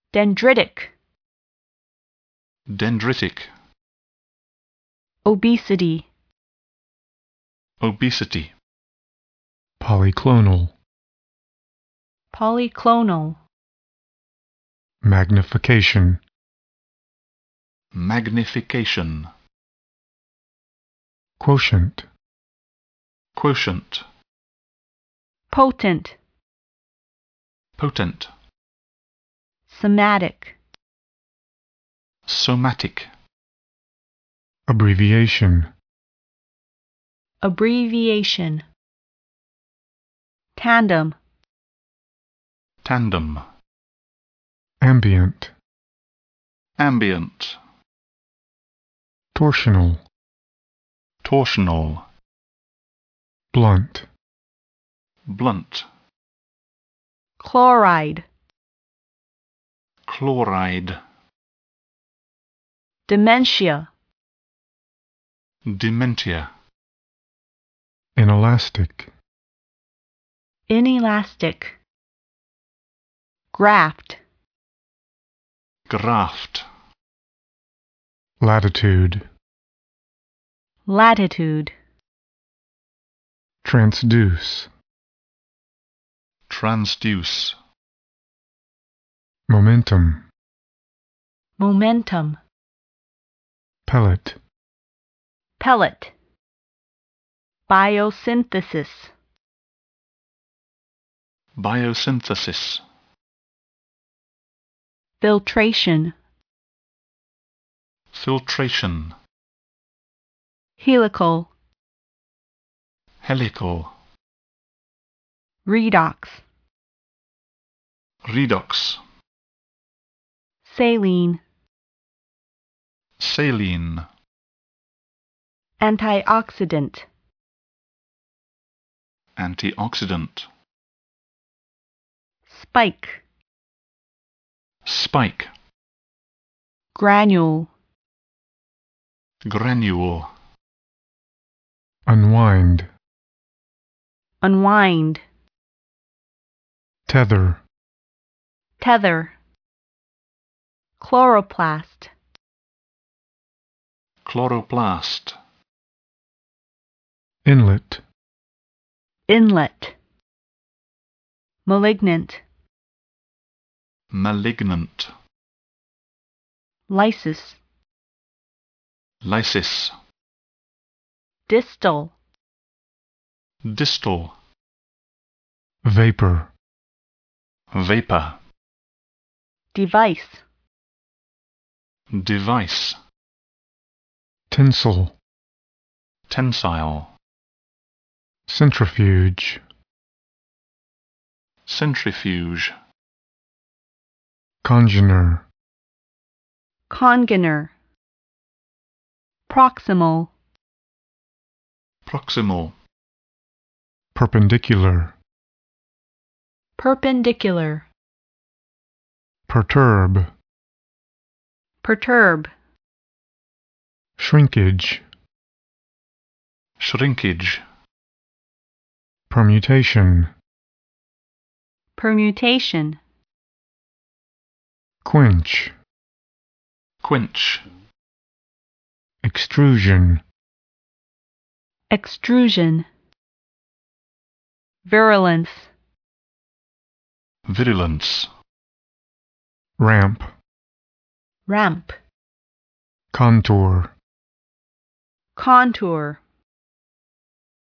Dendritic. Dendritic. Obesity. Obesity. Polyclonal. Polyclonal. Magnification. Magnification. Quotient. Quotient. Potent. Potent. Somatic. Somatic. Abbreviation. Abbreviation. Tandem. Tandem. Ambient. Ambient. Torsional. Torsional. Blunt. Blunt. Chloride. Chloride. Dementia. Dementia. Inelastic. Inelastic. Graft. Graft. Latitude. Latitude. Transduce. Transduce. Momentum. Momentum. Pellet. Pellet. Biosynthesis. Biosynthesis. Filtration. Filtration. Helical. Helical. Redox. Redox. Saline. Saline. Antioxidant. Antioxidant. Spike. Spike. Granule. Granule. Unwind. Unwind. Tether. Tether. Chloroplast. Chloroplast. Inlet. Inlet. Malignant. Malignant. Lysis. Lysis. Distal. Distal. Vapor. Vapor. Device. Device. Tinsel. Tensile. Centrifuge. Centrifuge. Congener. Congener. Proximal. Proximal. Perpendicular. Perpendicular. Perturb. Perturb. Shrinkage. Shrinkage. Permutation. Permutation. Quench. Quench. Extrusion. Extrusion. Virulence. Virulence. Ramp. Ramp. Contour. Contour.